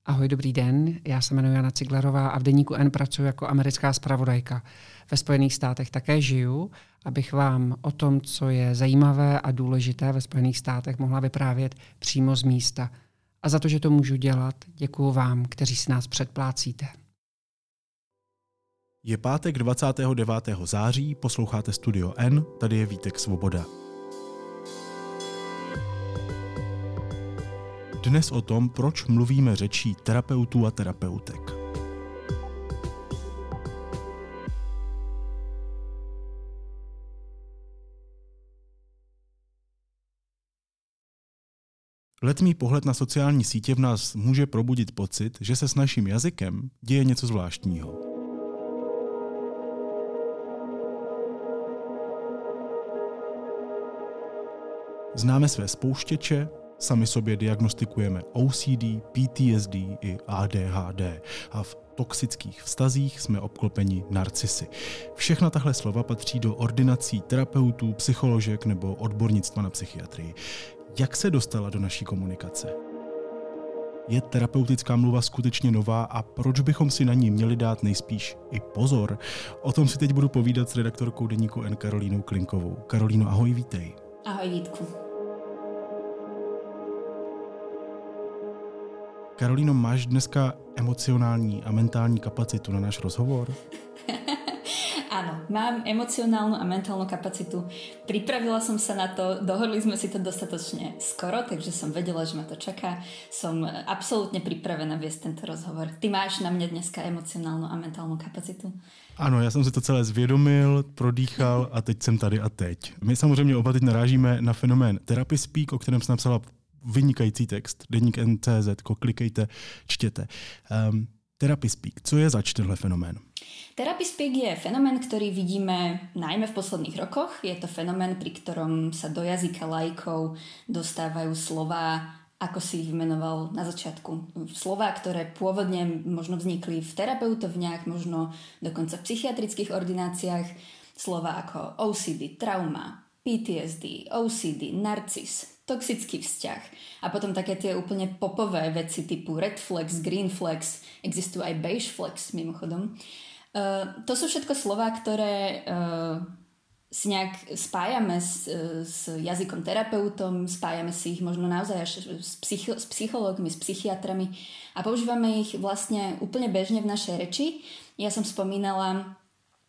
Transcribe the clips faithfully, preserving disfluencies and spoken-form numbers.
Ahoj, dobrý den. Já se jmenuji Jana Ciglerová a v Deníku N pracuji jako americká zpravodajka. Ve Spojených státech také žiju, abych vám o tom, co je zajímavé a důležité ve Spojených státech, mohla vyprávět přímo z místa. A za to, že to můžu dělat, děkuju vám, kteří si nás předplácíte. Je pátek dvacátého devátého září, posloucháte Studio N, tady je Vítek Svoboda. Dnes o tom, proč mluvíme řečí terapeutů a terapeutek. Letmý pohled na sociální sítě v nás může probudit pocit, že se s naším jazykem děje něco zvláštního. Známe své spouštěče, sami sobě diagnostikujeme O C D, P T S D i A D H D a v toxických vztazích jsme obklopeni narcisy. Všechna tahle slova patří do ordinací terapeutů, psycholožek nebo odbornictva na psychiatrii. Jak se dostala do naší komunikace? Je terapeutická mluva skutečně nová a proč bychom si na ní měli dát nejspíš i pozor? O tom si teď budu povídat s redaktorkou Deníku N Karolínou Klinkovou. Karolíno, ahoj, vítej. Ahoj, Vítku. Karolíno, máš dneska emocionální a mentální kapacitu na náš rozhovor? Áno, mám emocionálnu a mentálnu kapacitu. Pripravila som sa na to, dohodli sme si to dostatočne skoro, takže som vedela, že ma to čaká. Som absolútne pripravená viesť tento rozhovor. Ty máš na mňa dneska emocionálnu a mentálnu kapacitu? Ano, já jsem si to celé zvědomil, prodýchal a teď jsem tady a teď. My samozřejmě oba teď narážíme na fenomén Therapy Speak, o kterém jsem napsala vynikající text, Deník N C Z, klikejte, čtěte. Um, Therapy Speak, co je zač tenhle fenomén? Therapy Speak je fenomén, ktorý vidíme najmä v posledných rokoch. Je to fenomén, pri ktorom sa do jazyka laikov dostávajú slová, ako si ich vymenoval na začiatku. Slová, ktoré pôvodne možno vznikli v terapeutovniach, možno dokonca v psychiatrických ordináciách. Slová ako O C D, trauma, P T S D, O C D, narcis, toxický vzťah a potom také tie úplne popové veci typu red flags, green flags, existujú aj beige flags mimochodom. Uh, to sú všetko slová, ktoré uh, si nejak spájame s, s jazykom terapeutom, spájame si ich možno naozaj až s, psycho, s psychológmi, s psychiatrami a používame ich vlastne úplne bežne v našej reči. Ja som spomínala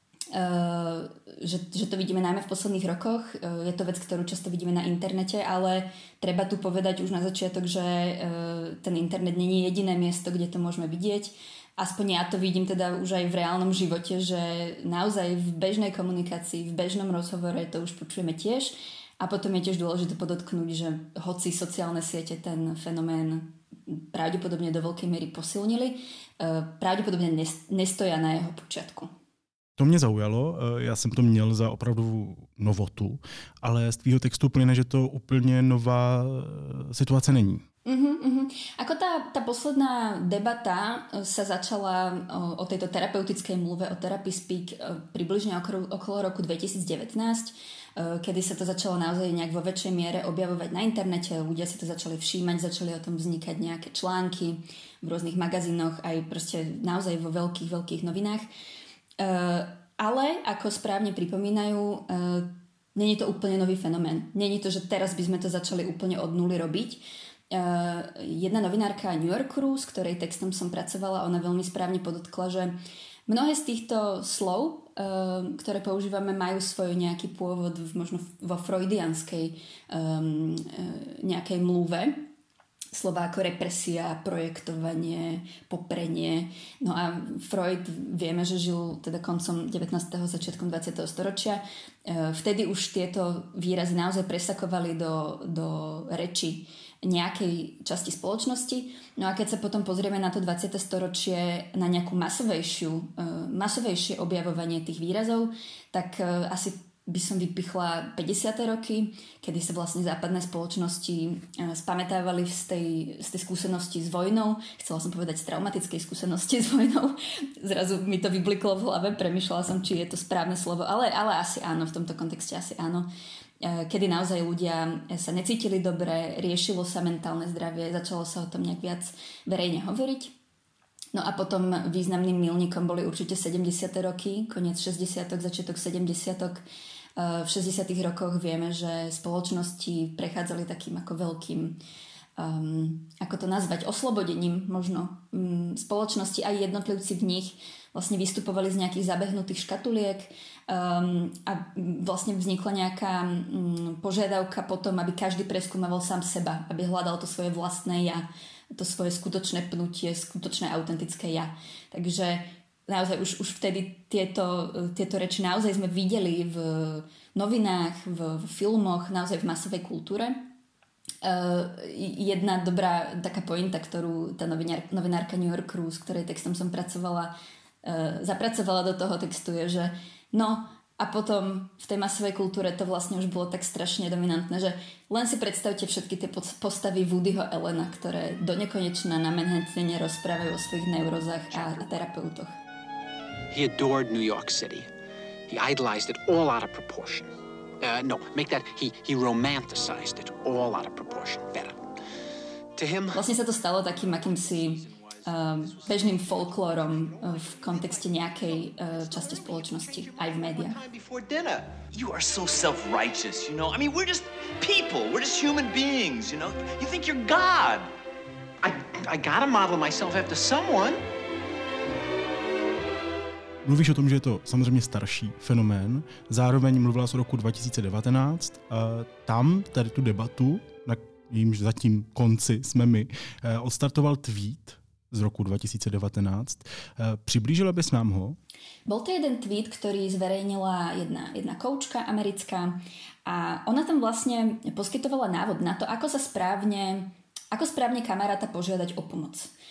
Uh, že, že to vidíme najmä v posledných rokoch. Uh, je to vec, ktorú často vidíme na internete, ale treba tu povedať už na začiatok, že uh, ten internet nie je jediné miesto, kde to môžeme vidieť. Aspoň ja to vidím teda už aj v reálnom živote, že naozaj v bežnej komunikácii, v bežnom rozhovore to už počujeme tiež. A potom je tiež dôležité podotknúť, že hoci sociálne siete ten fenomén pravdepodobne do veľkej miery posilnili, uh, pravdepodobne nestoja na jeho počiatku. To mě zaujalo, já jsem to měl za opravdu novotu, ale z tvýho textu plyne, že to úplně nová situace není. Uh-huh, uh-huh. Ako tá, tá posledná debata sa začala o, o tejto terapeutickej mluve, o Therapy Speak približne okolo, okolo roku dvetisícdevätnásť, kedy sa to začalo naozaj nejak vo väčšej miere objavovať na internete, ľudia si to začali všímať, začali o tom vznikať nejaké články v rôznych magazínoch, aj proste naozaj vo veľkých, veľkých novinách. Uh, ale, ako správne pripomínajú, uh, nie je to úplne nový fenomén. Nie je to, že teraz by sme to začali úplne od nuly robiť. Uh, jedna novinárka New Yorkeru, s ktorej textom som pracovala, ona veľmi správne podotkla, že mnohé z týchto slov, uh, ktoré používame, majú svoj nejaký pôvod v, možno vo freudianskej um, uh, nejakej mluve. Slova ako represia, projektovanie, poprenie. No a Freud vieme, že žil teda koncom devätnásteho začiatkom dvadsiateho storočia. Vtedy už tieto výrazy naozaj presakovali do, do reči nejakej časti spoločnosti. No a keď sa potom pozrieme na to dvadsiate storočie, na nejakú masovejšiu, masovejšie objavovanie tých výrazov, tak asi by som vypichla päťdesiate roky, kedy sa vlastne západné spoločnosti spamätávali z tej, z tej skúsenosti s vojnou. Chcela som povedať z traumatickej skúsenosti s vojnou. Zrazu mi to vybliklo v hlave, premýšľala som, či je to správne slovo, ale, ale asi áno, v tomto kontexte asi áno. Kedy naozaj ľudia sa necítili dobre, riešilo sa mentálne zdravie, začalo sa o tom nejak viac verejne hovoriť. No a potom významným milníkom boli určite sedemdesiate roky, koniec šesťdesiatok, začiatok sedemdesiatok. V šesťdesiatych rokoch vieme, že spoločnosti prechádzali takým ako veľkým, um, ako to nazvať, oslobodením možno. Um, spoločnosti aj jednotlivci v nich vlastne vystupovali z nejakých zabehnutých škatuliek um, a vlastne vznikla nejaká um, požiadavka potom, aby každý preskúmaval sám seba, aby hľadal to svoje vlastné ja, to svoje skutočné pnutie, skutočné autentické ja. Takže naozaj už, už vtedy tieto, tieto reči naozaj sme videli v novinách, v, v filmoch, naozaj v masovej kultúre. Uh, jedna dobrá taká pointa, ktorú tá novinár, novinárka New Yorkeru, s ktorej textom som pracovala, uh, zapracovala do toho textu je, že no a potom v tej masovej kultúre to vlastne už bolo tak strašne dominantné, že len si predstavte všetky tie postavy Woodyho Allena, ktoré do nekonečna na Manhattane rozprávajú o svojich neurozách a, a terapeutoch. He adored New York City. He idolized it all out of proportion. Uh, no, make that, he, he romanticized it all out of proportion. Better. To him... Vlastne sa to stalo takým akýmsi um, bežným folklórom uh, v kontexte nejakej uh, časti spoločnosti, aj v médiách. You are so self-righteous, you know? I mean, we're just people. We're just human beings, you know? You think you're God. I, I gotta model myself after someone. Mluvíš o tom, že je to samozřejmě starší fenomén, zároveň mluvila o roku dva tisíce devatenáct. Tam tady tu debatu, na jímž zatím konci jsme my, odstartoval tweet z roku dva tisíce devatenáct. Přiblížila bys nám ho? Bol to jeden tweet, ktorý zverejnila jedna, jedna koučka americká a ona tam vlastne poskytovala návod na to, ako sa správne, ako správne kamaráta požiadať o pomoc.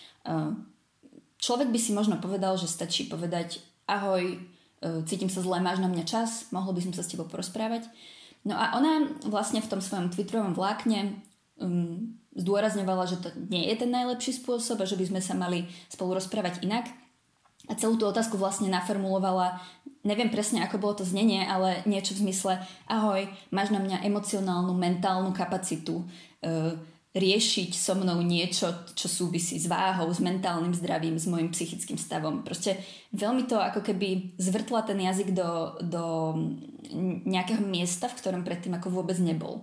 Človek by si možno povedal, že stačí povedať ahoj, cítim sa zle, máš na mňa čas, mohol by som sa s tebou porozprávať. No a ona vlastne v tom svojom twitterovom vlákne um, zdôrazňovala, že to nie je ten najlepší spôsob a že by sme sa mali spolu rozprávať inak. A celú tú otázku vlastne naformulovala, neviem presne, ako bolo to znenie, ale niečo v zmysle ahoj, máš na mňa emocionálnu, mentálnu kapacitu uh, riešiť so mnou niečo, čo súvisí s váhou, s mentálnym zdravím, s mojim psychickým stavom. Proste veľmi to ako keby zvrtla ten jazyk do, do nejakého miesta, v ktorom predtým ako vôbec nebol.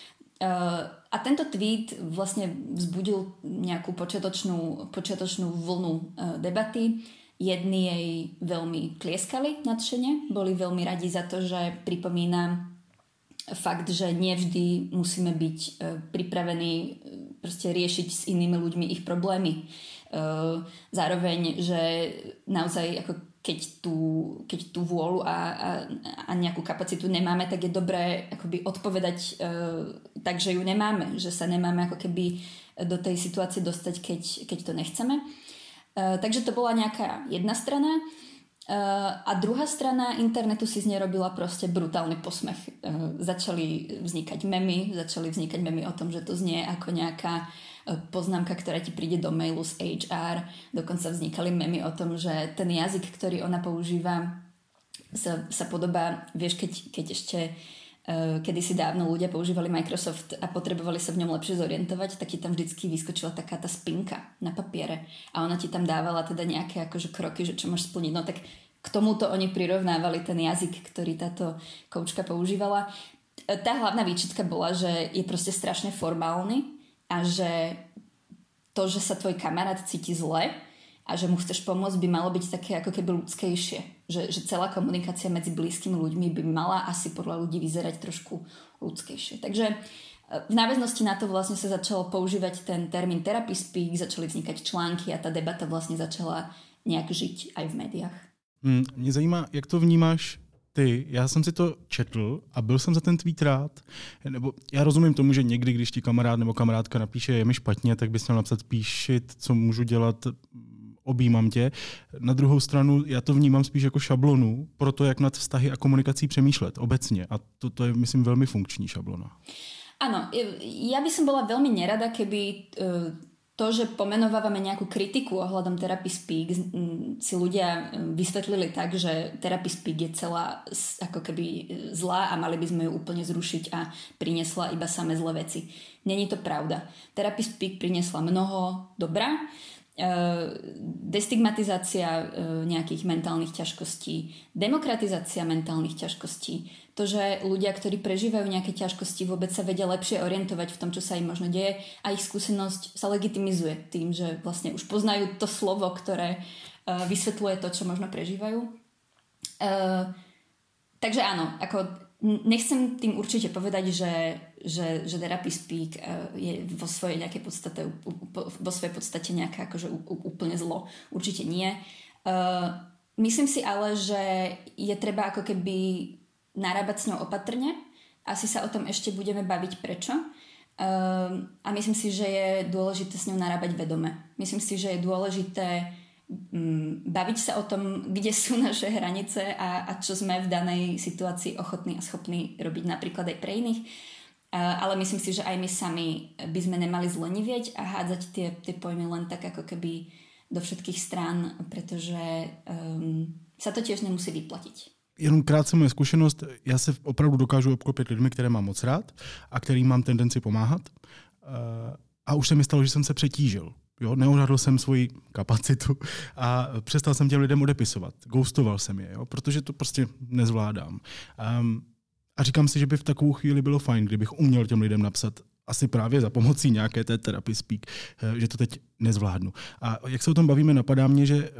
Uh, a tento tweet vlastne vzbudil nejakú počiatočnú, počiatočnú vlnu uh, debaty. Jedni jej veľmi tlieskali nadšene, boli veľmi radi za to, že pripomína fakt, že nevždy musíme byť e, pripravení e, proste riešiť s inými ľuďmi ich problémy. E, zároveň, že naozaj ako keď tú, keď tú vôľu a, a, a nejakú kapacitu nemáme, tak je dobré akoby odpovedať e, tak, že ju nemáme, že sa nemáme ako keby do tej situácie dostať, keď, keď to nechceme. E, takže to bola nejaká jedna strana. Uh, a druhá strana internetu si z nej robila proste brutálny posmech. Uh, začali vznikať memy, začali vznikať memy o tom, že to znie ako nejaká uh, poznámka, ktorá ti príde do mailu z há er. Dokonca vznikali memy o tom, že ten jazyk, ktorý ona používa, sa, sa podobá, vieš, keď, keď ešte uh, kedysi dávno ľudia používali Microsoft a potrebovali sa v ňom lepšie zorientovať, tak ti tam vždycky vyskočila taká tá spinka na papiere a ona ti tam dávala teda nejaké akože kroky, že čo máš splniť. No tak k tomuto oni prirovnávali ten jazyk, ktorý táto koučka používala. Tá hlavná výčitka bola, že je proste strašne formálny a že to, že sa tvoj kamarát cíti zle a že mu chceš pomôcť, by malo byť také ako keby ľudskejšie. Že, že celá komunikácia medzi blízkymi ľuďmi by mala asi podľa ľudí vyzerať trošku ľudskejšie. Takže v náväznosti na to vlastne sa začalo používať ten termín therapy speak, začali vznikať články a tá debata vlastne začala nejak žiť aj v médiách. Hmm, mě zajímá, jak to vnímáš ty. Já jsem si to četl a byl jsem za ten tweet rád. Nebo já rozumím tomu, že někdy, když ti kamarád nebo kamarádka napíše, je mi špatně, tak bys měl napsat píšit, co můžu dělat objímám tě. Na druhou stranu já to vnímám spíš jako šablonu pro to, jak nad vztahy a komunikací přemýšlet obecně. A to, to je, myslím, velmi funkční šablona. Áno, ja by som bola veľmi nerada, keby to, že pomenovávame nejakú kritiku ohľadom Therapy Speak, si ľudia vysvetlili tak, že Therapy Speak je celá ako keby zlá a mali by sme ju úplne zrušiť a priniesla iba samé zlé veci. Není to pravda. Therapy Speak priniesla mnoho dobra, destigmatizácia nejakých mentálnych ťažkostí, demokratizácia mentálnych ťažkostí, to, že ľudia, ktorí prežívajú nejaké ťažkosti, vôbec sa vedia lepšie orientovať v tom, čo sa im možno deje a ich skúsenosť sa legitimizuje tým, že vlastne už poznajú to slovo, ktoré vysvetľuje to, čo možno prežívajú. Takže áno, ako nechcem tým určite povedať, že, že, že Therapy Speak je vo svojej nejakej podstate, vo svojej podstate nejaké akože úplne zlo. Určite nie. Myslím si ale, že je treba ako keby narábať s ňou opatrne. Asi sa o tom ešte budeme baviť prečo. A myslím si, že je dôležité s ňou narábať vedome. Myslím si, že je dôležité baviť sa o tom, kde sú naše hranice a, a čo sme v danej situácii ochotní a schopní robiť napríklad aj pre iných. Ale myslím si, že aj my sami by sme nemali zlenivieť a hádzať tie, tie pojmy len tak ako keby do všetkých strán, pretože um, sa to tiež nemusí vyplatiť. Jenom krátce moje zkušenost, já se opravdu dokážu obklopit lidmi, které mám moc rád a kterým mám tendenci pomáhat. A už se mi stalo, že jsem se přetížil. Jo, neodhadl jsem svoji kapacitu a přestal jsem těm lidem odepisovat. Ghostoval jsem je, jo, protože to prostě nezvládám. Um, a říkám si, že by v takovou chvíli bylo fajn, kdybych uměl těm lidem napsat asi právě za pomocí nějaké té Therapy Speak, že to teď nezvládnu. A jak se o tom bavíme, napadá mě, že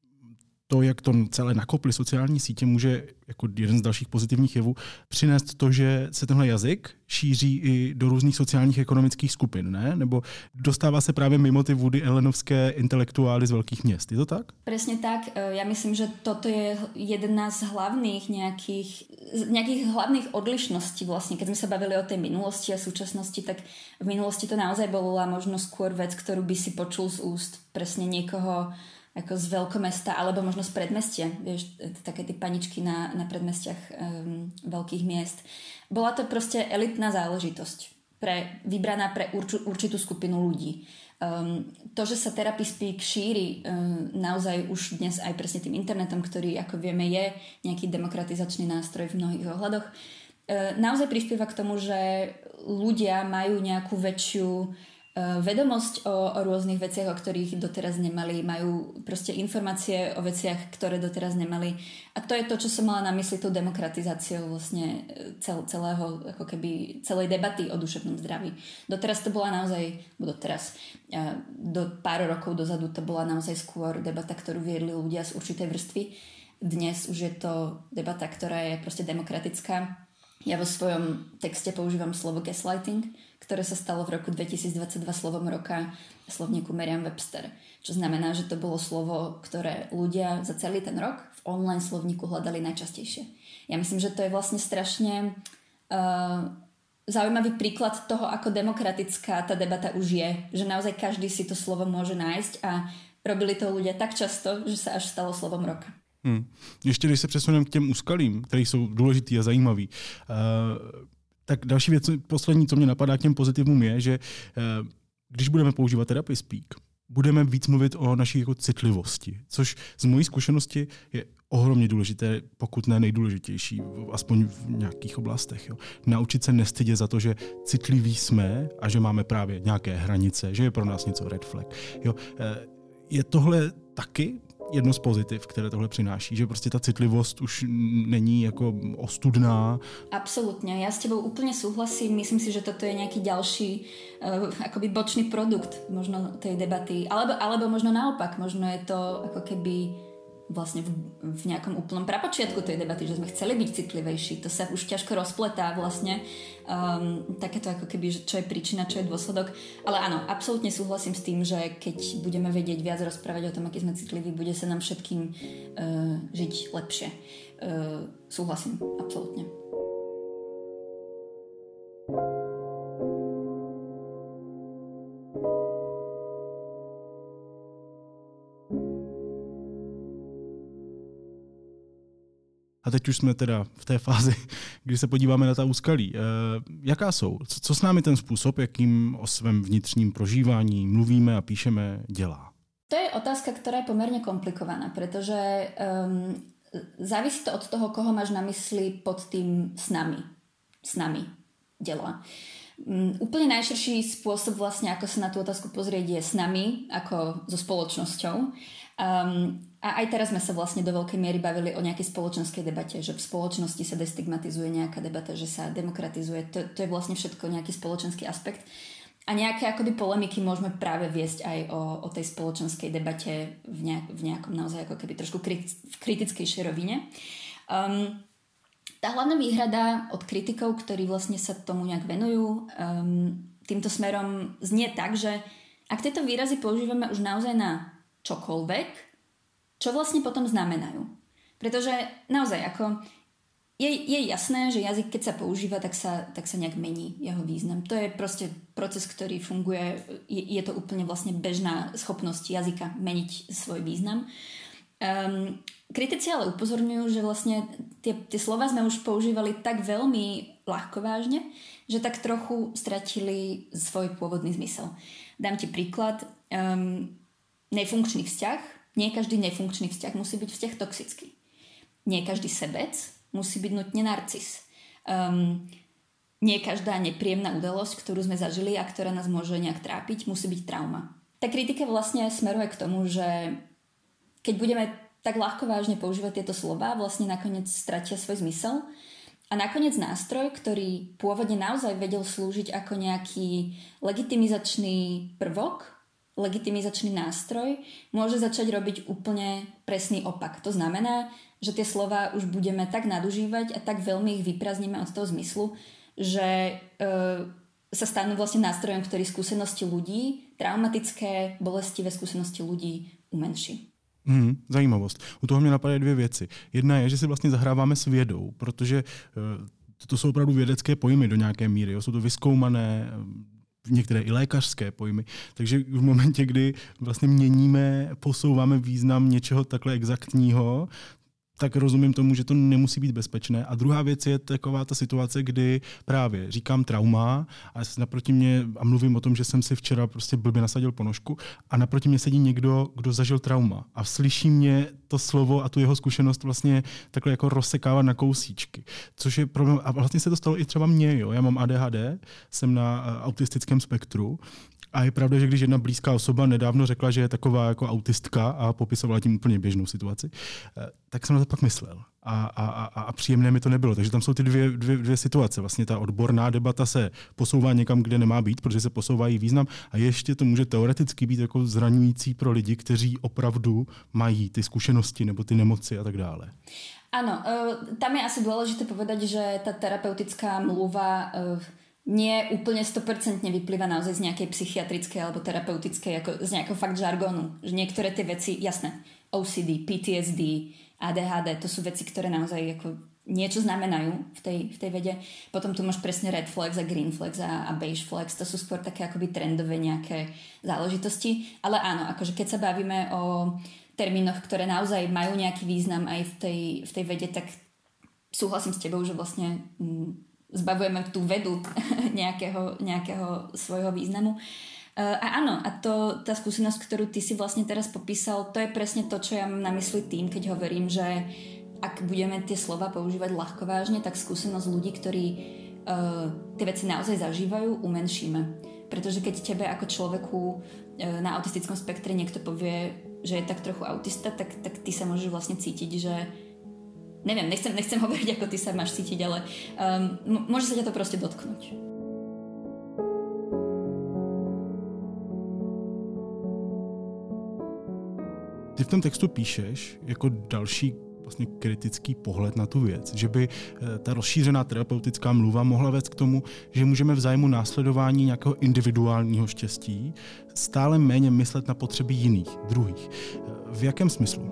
to, jak to celé nakoply sociální sítě, může jako jeden z dalších pozitivních jevů přinést to, že se tenhle jazyk šíří i do různých sociálních ekonomických skupin, ne? Nebo dostává se právě mimo ty Woody Allenovské intelektuály z velkých měst. Je to tak? Presne tak. Ja myslím, že toto je jedna z hlavných nejakých, nejakých hlavných odlišností vlastne. Keď sme sa bavili o tej minulosti a súčasnosti, tak v minulosti to naozaj bola možno skôr vec, ktorú by si počul z úst presne niekoho ako z veľkomesta, alebo možno z predmestia, vieš, také tie paničky na, na predmestiach um, veľkých miest. Bola to proste elitná záležitosť, pre, vybraná pre urču, určitú skupinu ľudí. Um, to, že sa Therapy Speak šíri um, naozaj už dnes aj presne tým internetom, ktorý, ako vieme, je nejaký demokratizačný nástroj v mnohých ohľadoch, uh, naozaj prispieva k tomu, že ľudia majú nejakú väčšiu vedomosť o, o rôznych veciach, o ktorých doteraz nemali, majú proste informácie o veciach, ktoré doteraz nemali. A to je to, čo som mala na mysli tou demokratizáciou vlastne cel, celého, ako keby celej debaty o duševnom zdraví. Doteraz to bola naozaj, bo doteraz, do pár rokov dozadu to bola naozaj skôr debata, ktorú viedli ľudia z určitej vrstvy. Dnes už je to debata, ktorá je proste demokratická. Ja vo svojom texte používam slovo gaslighting, ktoré sa stalo v roku dvetisícdvadsaťdva slovom roka v slovníku Merriam-Webster. Čo znamená, že to bolo slovo, ktoré ľudia za celý ten rok v online slovníku hľadali najčastejšie. Ja myslím, že to je vlastne strašne uh, zaujímavý príklad toho, ako demokratická tá debata už je. Že naozaj každý si to slovo môže nájsť a robili to ľudia tak často, že sa až stalo slovom roka. Hmm. Ještě když se přesuneme k těm úskalím, které jsou důležitý a zajímavý, uh, tak další věc, poslední, co mě napadá k těm pozitivům, je, že uh, když budeme používat Therapy Speak, budeme víc mluvit o naší jako citlivosti, což z mojí zkušenosti je ohromně důležité, pokud ne nejdůležitější, aspoň v nějakých oblastech. Jo. Naučit se nestydět za to, že citliví jsme a že máme právě nějaké hranice, že je pro nás něco red flag. Jo. Uh, je tohle taky jedno z pozitiv, které tohle přináší, že prostě ta citlivost už není jako ostudná. Absolutne, ja s tebou úplne súhlasím, myslím si, že toto je nejaký ďalší uh, akoby bočný produkt možno tej debaty, alebo, alebo možno naopak, možno je to ako keby vlastne v, v nejakom úplnom prapočiatku tej debaty, že sme chceli byť citlivejší, to sa už ťažko rozpletá vlastne, um, takéto ako keby, že čo je príčina, čo je dôsledok, ale áno, absolútne súhlasím s tým, že keď budeme vedieť viac rozprávať o tom, aký sme citliví, bude sa nám všetkým uh, žiť lepšie. Uh, súhlasím, absolútne. A teď už jsme teda v té fázi, kdy se podíváme na ta úskalí. E, jaká jsou? Co, co s námi ten způsob, jakým o svém vnitřním prožívání mluvíme a píšeme, dělá? To je otázka, ktorá je pomerne komplikovaná, pretože um, závisí to od toho, koho máš na mysli pod tým s nami. S nami dělá. Um, úplne najširší spôsob vlastne, ako sa na tú otázku pozrieť, je s nami, ako so spoločnosťou. Um, a aj teraz sme sa vlastne do veľkej miery bavili o nejakej spoločenskej debate, že v spoločnosti sa destigmatizuje nejaká debata, že sa demokratizuje. To, to je vlastne všetko nejaký spoločenský aspekt. A nejaké akoby polemiky môžeme práve viesť aj o, o tej spoločenskej debate v, nejak, v nejakom naozaj ako keby trošku kriti- v kritickejšej rovine. Um, tá hlavná výhrada od kritikov, ktorí vlastne sa tomu nejak venujú, um, týmto smerom znie tak, že ak tieto výrazy používame už naozaj na čokoľvek, čo vlastne potom znamenajú. Pretože naozaj ako Je, je jasné, že jazyk, keď sa používa, tak sa, tak sa nejak mení jeho význam. To je proste proces, ktorý funguje, je, je to úplne vlastne bežná schopnosť jazyka meniť svoj význam. Um, kritici ale upozorňujú, že vlastne tie, tie slova sme už používali tak veľmi ľahkovážne, že tak trochu stratili svoj pôvodný zmysel. Dám ti príklad. Um, nefunkčný vzťah. Nie každý nefunkčný vzťah musí byť vzťah toxický. Nie každý sebec musí byť nutne narcis. Um, nie každá nepríjemná udalosť, ktorú sme zažili a ktorá nás môže nejak trápiť, musí byť trauma. Tá kritika vlastne smeruje k tomu, že keď budeme tak ľahko vážne používať tieto slová, vlastne nakoniec stratia svoj zmysel a nakoniec nástroj, ktorý pôvodne naozaj vedel slúžiť ako nejaký legitimizačný prvok, legitimizačný nástroj, môže začať robiť úplne presný opak. To znamená, že tie slova už budeme tak nadužívať a tak veľmi ich vyprázdnime od toho zmyslu, že e, sa stanú vlastne nástrojom, ktorý skúsenosti ľudí, traumatické, bolestivé skúsenosti ľudí umenší. Hmm, zajímavost. U toho mě napadají dvě věci. Jedna je, že si vlastně zahráváme s vědou, protože e, to jsou opravdu vědecké pojmy do nějaké míry. Jo? Jsou to vyzkoumané, některé i lékařské pojmy. Takže v momentě, kdy vlastně měníme, posouváme význam něčeho takhle exaktního, tak rozumím tomu, že to nemusí být bezpečné. A druhá věc je taková ta situace, kdy právě říkám trauma a naproti mě a mluvím o tom, že jsem si včera prostě blbě nasadil ponožku a naproti mě sedí někdo, kdo zažil trauma a slyší mě to slovo a tu jeho zkušenost vlastně takhle jako rozsekávat na kousíčky. Což je problém. A vlastně se to stalo i třeba mně. Jo. Já mám A D H D, jsem na autistickém spektru. A je pravda, že když jedna blízká osoba nedávno řekla, že je taková jako autistka a popisovala tím úplně běžnou situaci, tak jsem na to pak myslel. A, a, a, a příjemné mi to nebylo. Takže tam jsou ty dvě, dvě, dvě situace. Vlastně ta odborná debata se posouvá někam, kde nemá být, protože se posouvají význam. A ještě to může teoreticky být jako zraňující pro lidi, kteří opravdu mají ty zkušenosti nebo ty nemoci a tak dále. Áno, tam je asi dôležité povedať, že tá terapeutická mluva nie úplne sto percent vyplýva naozaj z nejakej psychiatrickej alebo terapeutickej, ako z nejakého fakt žargónu. Že niektoré tie veci, jasné, O C D, P T S D, A D H D, to sú veci, ktoré naozaj ako niečo znamenajú v tej, v tej vede. Potom tu máš presne red flags a green flags a, a beige flags, to sú skôr také akoby trendové nejaké záležitosti. Ale áno, akože keď sa bavíme o termínoch, ktoré naozaj majú nejaký význam aj v tej, v tej vede, tak súhlasím s tebou, že vlastne mm, zbavujeme tú vedu nejakého, nejakého svojho významu. A áno, a to, tá skúsenosť, ktorú ty si vlastne teraz popísal, to je presne to, čo ja mám na mysli tým, keď hovorím, že ak budeme tie slova používať ľahkovážne, tak skúsenosť ľudí, ktorí uh, tie veci naozaj zažívajú, umenšíme. Pretože keď tebe ako človeku uh, na autistickom spektre niekto povie, že je tak trochu autista, tak, tak ty sa môžeš vlastne cítiť, že neviem, nechcem, nechcem hovoriť, ako ty sa máš cítiť, ale um, môže sa ťa to proste dotknúť. Ty v tom textu píšeš jako další vlastně kritický pohled na tu věc, že by ta rozšířená terapeutická mluva mohla vést k tomu, že můžeme v zájmu následování nějakého individuálního štěstí stále méně myslet na potřeby jiných, druhých. V jakém smyslu?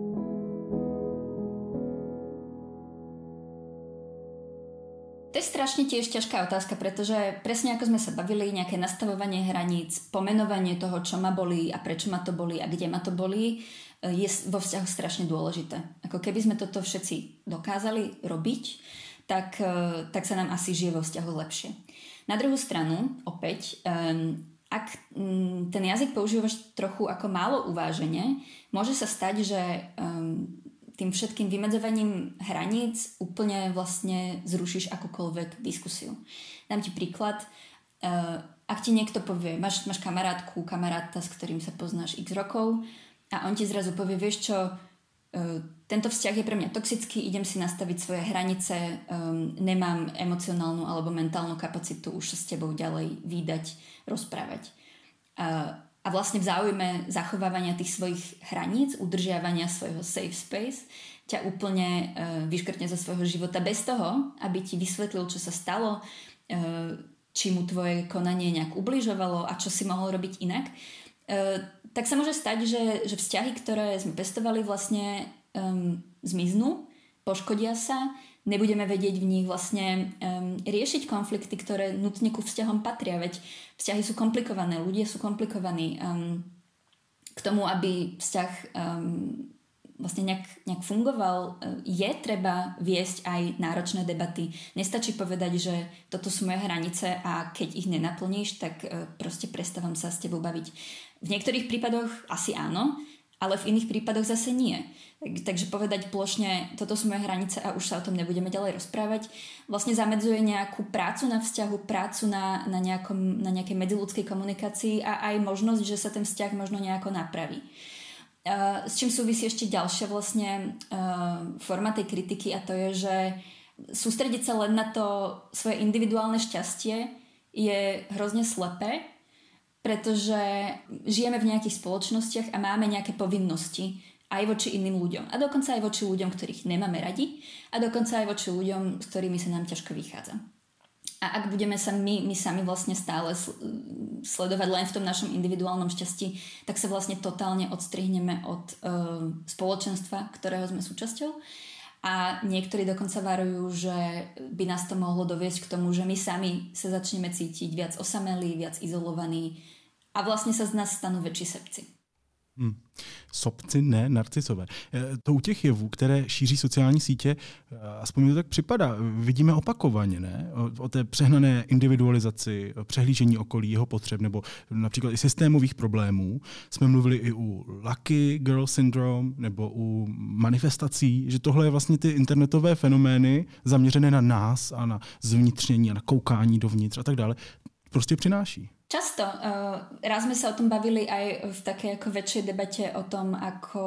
To je strašne strašne tiež ťažká otázka, pretože presne ako sme sa bavili, nejaké nastavovanie hraníc, pomenovanie toho, čo ma bolí a prečo ma to bolí a kde ma to bolí, je vo vzťahu strašne dôležité. Ako keby sme toto všetci dokázali robiť, tak, tak sa nám asi žije vo vzťahu lepšie. Na druhú stranu, opäť, um, ak um, ten jazyk používaš trochu ako málo uvážene, môže sa stať, že um, tým všetkým vymedzovaním hraníc úplne vlastne zrušíš akúkoľvek diskusiu. Dám ti príklad. Uh, ak ti niekto povie, máš, máš kamarátku, kamaráta, s ktorým sa poznáš x rokov a on ti zrazu povie, vieš čo, uh, tento vzťah je pre mňa toxický, idem si nastaviť svoje hranice, um, nemám emocionálnu alebo mentálnu kapacitu už sa s tebou ďalej vídať, rozprávať. Uh, A vlastne v záujme zachovávania tých svojich hraníc, udržiavania svojho safe space, ťa úplne uh, vyškrtne zo svojho života bez toho, aby ti vysvetlil, čo sa stalo, uh, či mu tvoje konanie nejak ubližovalo a čo si mohol robiť inak. Uh, tak sa môže stať, že, že vzťahy, ktoré sme pestovali, vlastne um, zmiznú, poškodia sa, nebudeme vedieť v nich vlastne um, riešiť konflikty, ktoré nutne ku vzťahom patria, veď vzťahy sú komplikované, ľudia sú komplikovaní. Um, k tomu, aby vzťah um, vlastne nejak, nejak fungoval, je treba viesť aj náročné debaty. Nestačí povedať, že toto sú moje hranice a keď ich nenaplníš, tak uh, proste prestávam sa s tebou baviť. V niektorých prípadoch asi áno, ale v iných prípadoch zase nie. Takže povedať plošne, toto sú moje hranice a už sa o tom nebudeme ďalej rozprávať, vlastne zamedzuje nejakú prácu na vzťahu, prácu na, na, nejakom, na nejakej medziľudskej komunikácii a aj možnosť, že sa ten vzťah možno nejako napraví. Uh, s čím súvisí ešte ďalšia vlastne uh, forma tej kritiky a to je, že sústrediť sa len na to svoje individuálne šťastie je hrozne slepé, pretože žijeme v nejakých spoločnostiach a máme nejaké povinnosti aj voči iným ľuďom. A dokonca aj voči ľuďom, ktorých nemáme radi a dokonca aj voči ľuďom, s ktorými sa nám ťažko vychádza. A ak budeme sa my, my sami vlastne stále sledovať len v tom našom individuálnom šťastí, tak sa vlastne totálne odstrihneme od uh, spoločenstva, ktorého sme súčasťou. A niektorí dokonca varujú, že by nás to mohlo doviesť k tomu, že my sami sa začneme cítiť viac osamelí, viac izolovaní a vlastne sa z nás stanú väčší sebci. Hmm. Sobci, ne, narcisové. To u těch jevů, které šíří sociální sítě, aspoň mi to tak připadá, vidíme opakovaně, ne? O, o té přehnané individualizaci, přehlížení okolí, jeho potřeb, nebo například i systémových problémů. Jsme mluvili i u Lucky Girl Syndrome, nebo u manifestací, že tohle je vlastně ty internetové fenomény zaměřené na nás a na zvnitřnění a na koukání dovnitř a tak dále, prostě přináší. Často. Uh, raz sme sa o tom bavili aj v takej ako väčšej debate o tom, ako,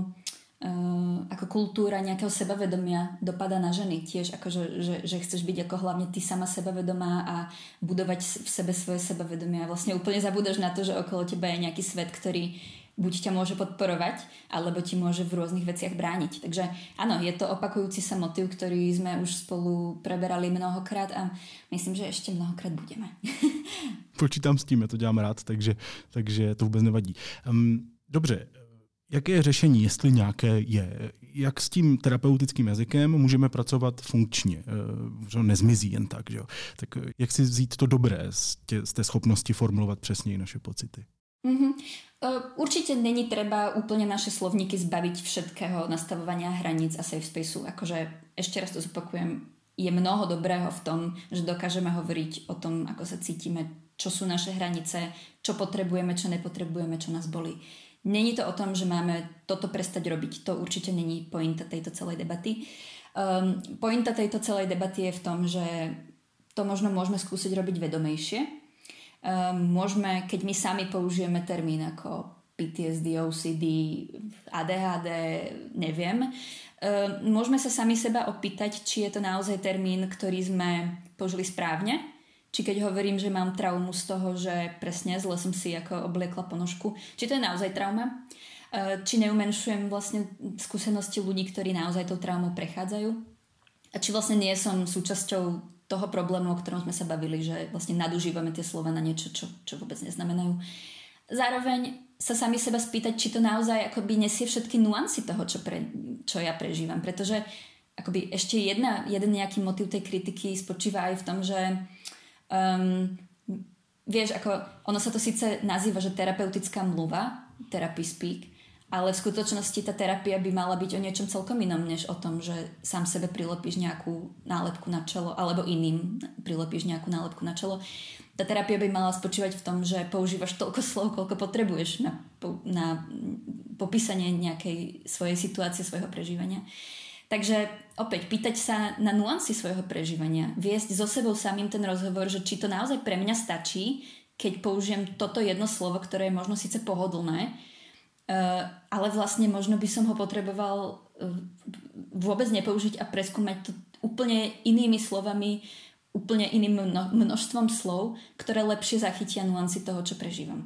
uh, ako kultúra nejakého sebavedomia dopada na ženy. Tiež ako, že, že, že chceš byť ako hlavne ty sama sebavedomá a budovať v sebe svoje sebavedomie. A vlastne úplne zabúdaš na to, že okolo teba je nejaký svet, ktorý buď ťa môže podporovať, alebo ti môže v rôznych veciach brániť. Takže áno, je to opakujúci sa motív, ktorý sme už spolu preberali mnohokrát a myslím, že ešte mnohokrát budeme. Počítám s tím, já to dělám rád, takže, takže to vůbec nevadí. Um, dobře, jaké je řešení, jestli nějaké je? Jak s tím terapeutickým jazykem můžeme pracovat funkčně? Že nezmizí jen tak, že jo? Tak jak si vzít to dobré z, tě, z té schopnosti formulovat přesněji naše pocity? Mm-hmm. Určite není treba úplne naše slovníky zbaviť všetkého nastavovania hraníc a safe spaceu. Akože ešte raz to zopakujem, je mnoho dobrého v tom, že dokážeme hovoriť o tom, ako sa cítime, čo sú naše hranice, čo potrebujeme, čo nepotrebujeme, čo nás bolí. Není to o tom, že máme toto prestať robiť. To určite není pointa tejto celej debaty. Um, pointa tejto celej debaty je v tom, že to možno môžeme skúsiť robiť vedomejšie. Um, môžeme, keď my sami použijeme termín ako P T S D, O C D, A D H D, neviem, um, môžeme sa sami seba opýtať, či je to naozaj termín, ktorý sme použili správne, či keď hovorím, že mám traumu z toho, že presne zle som si ako obliekla ponožku, či to je naozaj trauma, uh, či neumenšujem vlastne skúsenosti ľudí, ktorí naozaj tou traumou prechádzajú a či vlastne nie som súčasťou toho problému, o ktorom sme sa bavili, že vlastne nadužívame tie slova na niečo, čo, čo vôbec neznamenajú. Zároveň sa sami seba spýtať, či to naozaj akoby nesie všetky nuancy toho, čo, pre, čo ja prežívam. Pretože akoby ešte jedna, jeden nejaký motív tej kritiky spočíva aj v tom, že um, vieš, ako ono sa to síce nazýva, že terapeutická mluva, therapy speak, ale v skutočnosti tá terapia by mala byť o niečom celkom inom, než o tom, že sám sebe prilepíš nejakú nálepku na čelo, alebo iným prilepíš nejakú nálepku na čelo. Tá terapia by mala spočívať v tom, že používaš toľko slov, koľko potrebuješ na, na popísanie nejakej svojej situácie, svojho prežívania. Takže opäť pýtať sa na nuancy svojho prežívania, viesť so sebou samým ten rozhovor, že či to naozaj pre mňa stačí, keď použijem toto jedno slovo, ktoré je možno síce pohodlné, ale vlastne možno by som ho potreboval vôbec nepoužiť a preskúmať to úplne inými slovami, úplne iným množstvom slov, ktoré lepšie zachytia nuancy toho, čo prežívam.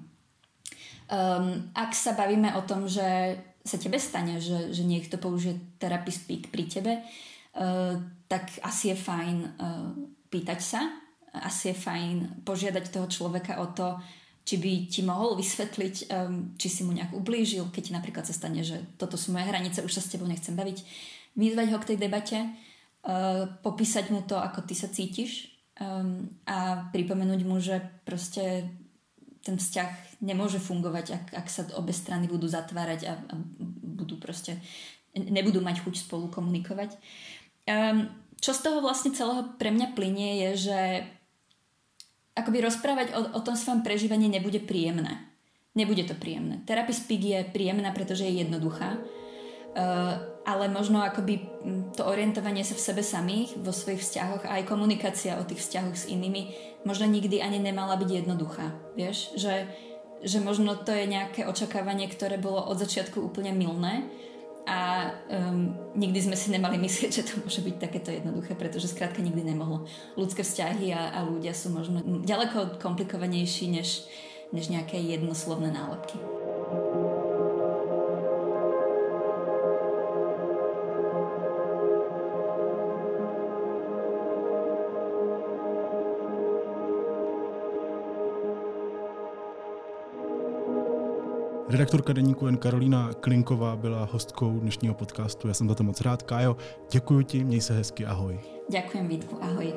Um, ak sa bavíme o tom, že sa tebe stane, že, že niekto použije therapy speak pri tebe, uh, tak asi je fajn uh, pýtať sa, asi je fajn požiadať toho človeka o to, či by ti mohol vysvetliť, um, či si mu nejak ublížil, keď ti napríklad sa stane, že toto sú moje hranice, už sa s tebou nechcem baviť, vyzvať ho k tej debate, uh, popísať mu to, ako ty sa cítiš um, a pripomenúť mu, že proste ten vzťah nemôže fungovať, ak, ak sa obe strany budú zatvárať a, a budú proste, nebudú mať chuť spolu komunikovať. Um, čo z toho vlastne celého pre mňa plynie je, že akoby rozprávať o, o tom svojom prežívaní nebude príjemné. Nebude to príjemné. Therapy speak je príjemná, pretože je jednoduchá, uh, ale možno akoby to orientovanie sa v sebe samých, vo svojich vzťahoch a aj komunikácia o tých vzťahoch s inými možno nikdy ani nemala byť jednoduchá. Vieš? Že, že možno to je nejaké očakávanie, ktoré bolo od začiatku úplne mylné a um, nikdy sme si nemali myslieť, že to môže byť takéto jednoduché, pretože skrátka nikdy nemohlo. Ľudské vzťahy a, a ľudia sú možno ďaleko komplikovanejší než, než nejaké jednoslovné nálepky. Redaktorka deníku N Karolína Klinková byla hostkou dnešního podcastu. Já jsem za to moc rád. Kájo, děkuji ti, měj se hezky, ahoj. Ďakujem, Vítku, ahoj.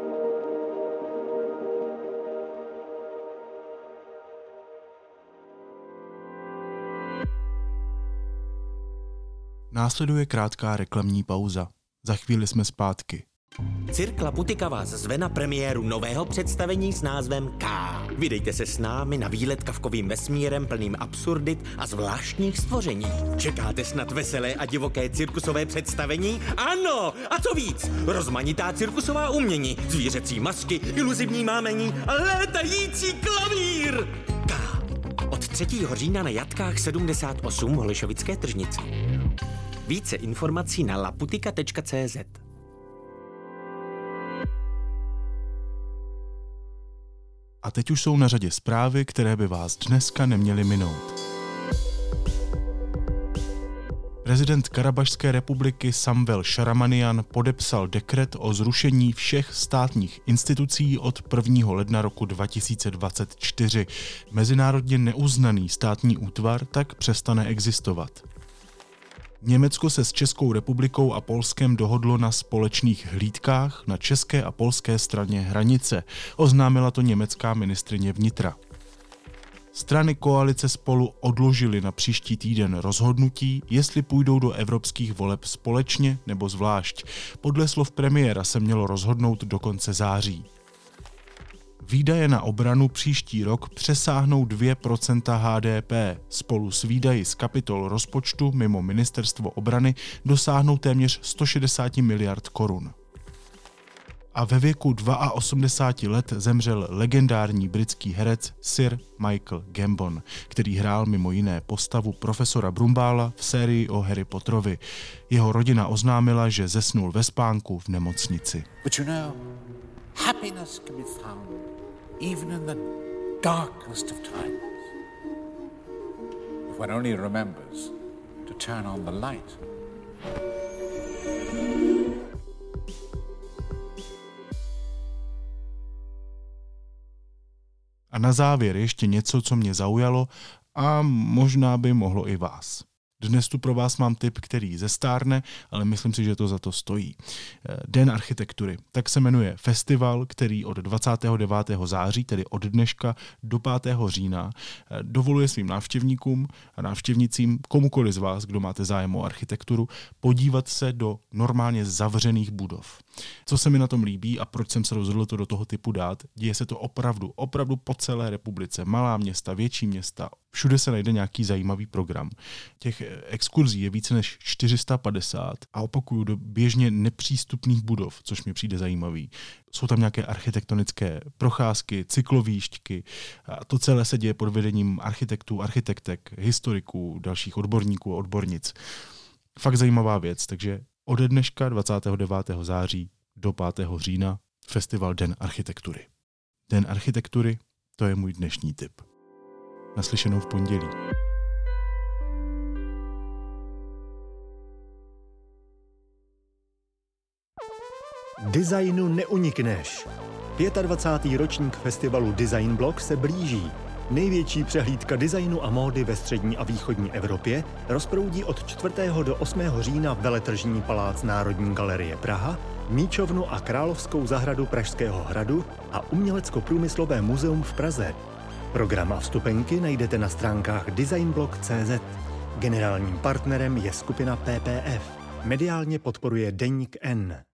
Následuje krátká reklamní pauza. Za chvíli jsme zpátky. Cirk Laputika vás zve na premiéru nového představení s názvem K. Vydejte se s námi na výlet kafkovým vesmírem plným absurdit a zvláštních stvoření. Čekáte snad veselé a divoké cirkusové představení? Ano! A co víc? Rozmanitá cirkusová umění, zvířecí masky, iluzivní mámení a létající klavír! K. Od třetího října na Jatkách sedmdesát osm v Holešovické tržnici. Více informací na laputika tečka cé zet. A teď už jsou na řadě zprávy, které by vás dneska neměly minout. Prezident Karabašské republiky Samvel Šaramanian podepsal dekret o zrušení všech státních institucí od prvního ledna roku dva tisíce dvacet čtyři. Mezinárodně neuznaný státní útvar tak přestane existovat. Německo se s Českou republikou a Polskem dohodlo na společných hlídkách na české a polské straně hranice, oznámila to německá ministryně vnitra. Strany koalice Spolu odložily na příští týden rozhodnutí, jestli půjdou do evropských voleb společně nebo zvlášť. Podle slov premiéra se mělo rozhodnout do konce září. Výdaje na obranu příští rok přesáhnou dvě procenta há dé pé. Spolu s výdaji z kapitol rozpočtu mimo ministerstvo obrany dosáhnou téměř sto šedesát miliard korun. A ve věku osmdesáti dvou let zemřel legendární britský herec Sir Michael Gambon, který hrál mimo jiné postavu profesora Brumbála v sérii o Harry Potterovi. Jeho rodina oznámila, že zesnul ve spánku v nemocnici. But you know, happiness can be found even in the darkest of times, if one only remembers to turn on the light. A na závěr ještě něco, co mě zaujalo a možná by mohlo i vás. Dnes tu pro vás mám tip, který zestárne, ale myslím si, že to za to stojí. Den architektury. Tak se jmenuje festival, který od dvacátého devátého září, tedy od dneška do pátého října, dovoluje svým návštěvníkům a návštěvnicím, komukoli z vás, kdo máte zájem o architekturu, podívat se do normálně zavřených budov. Co se mi na tom líbí a proč jsem se rozhodl to do toho typu dát, děje se to opravdu, opravdu po celé republice. Malá města, větší města, všude se najde nějaký zajímavý program. Těch exkurzí je více než čtyři sta padesát a opakuju, do běžně nepřístupných budov, což mi přijde zajímavý. Jsou tam nějaké architektonické procházky, cyklovíštky a to celé se děje pod vedením architektů, architektek, historiků, dalších odborníků a odbornic. Fakt zajímavá věc, takže ode dneška dvacátého devátého září do pátého října festival Den architektury. Den architektury, to je můj dnešní tip. Naslyšenou v pondělí. Designu neunikneš. dvacátý pátý ročník festivalu Design Block se blíží. Největší přehlídka designu a módy ve střední a východní Evropě rozproudí od čtvrtého do osmého října veletržní palác Národní galerie Praha, Míčovnu a Královskou zahradu Pražského hradu a Umělecko-průmyslové muzeum v Praze. Program a vstupenky najdete na stránkách designblog tečka cé zet. Generálním partnerem je skupina P P F. Mediálně podporuje Deník N.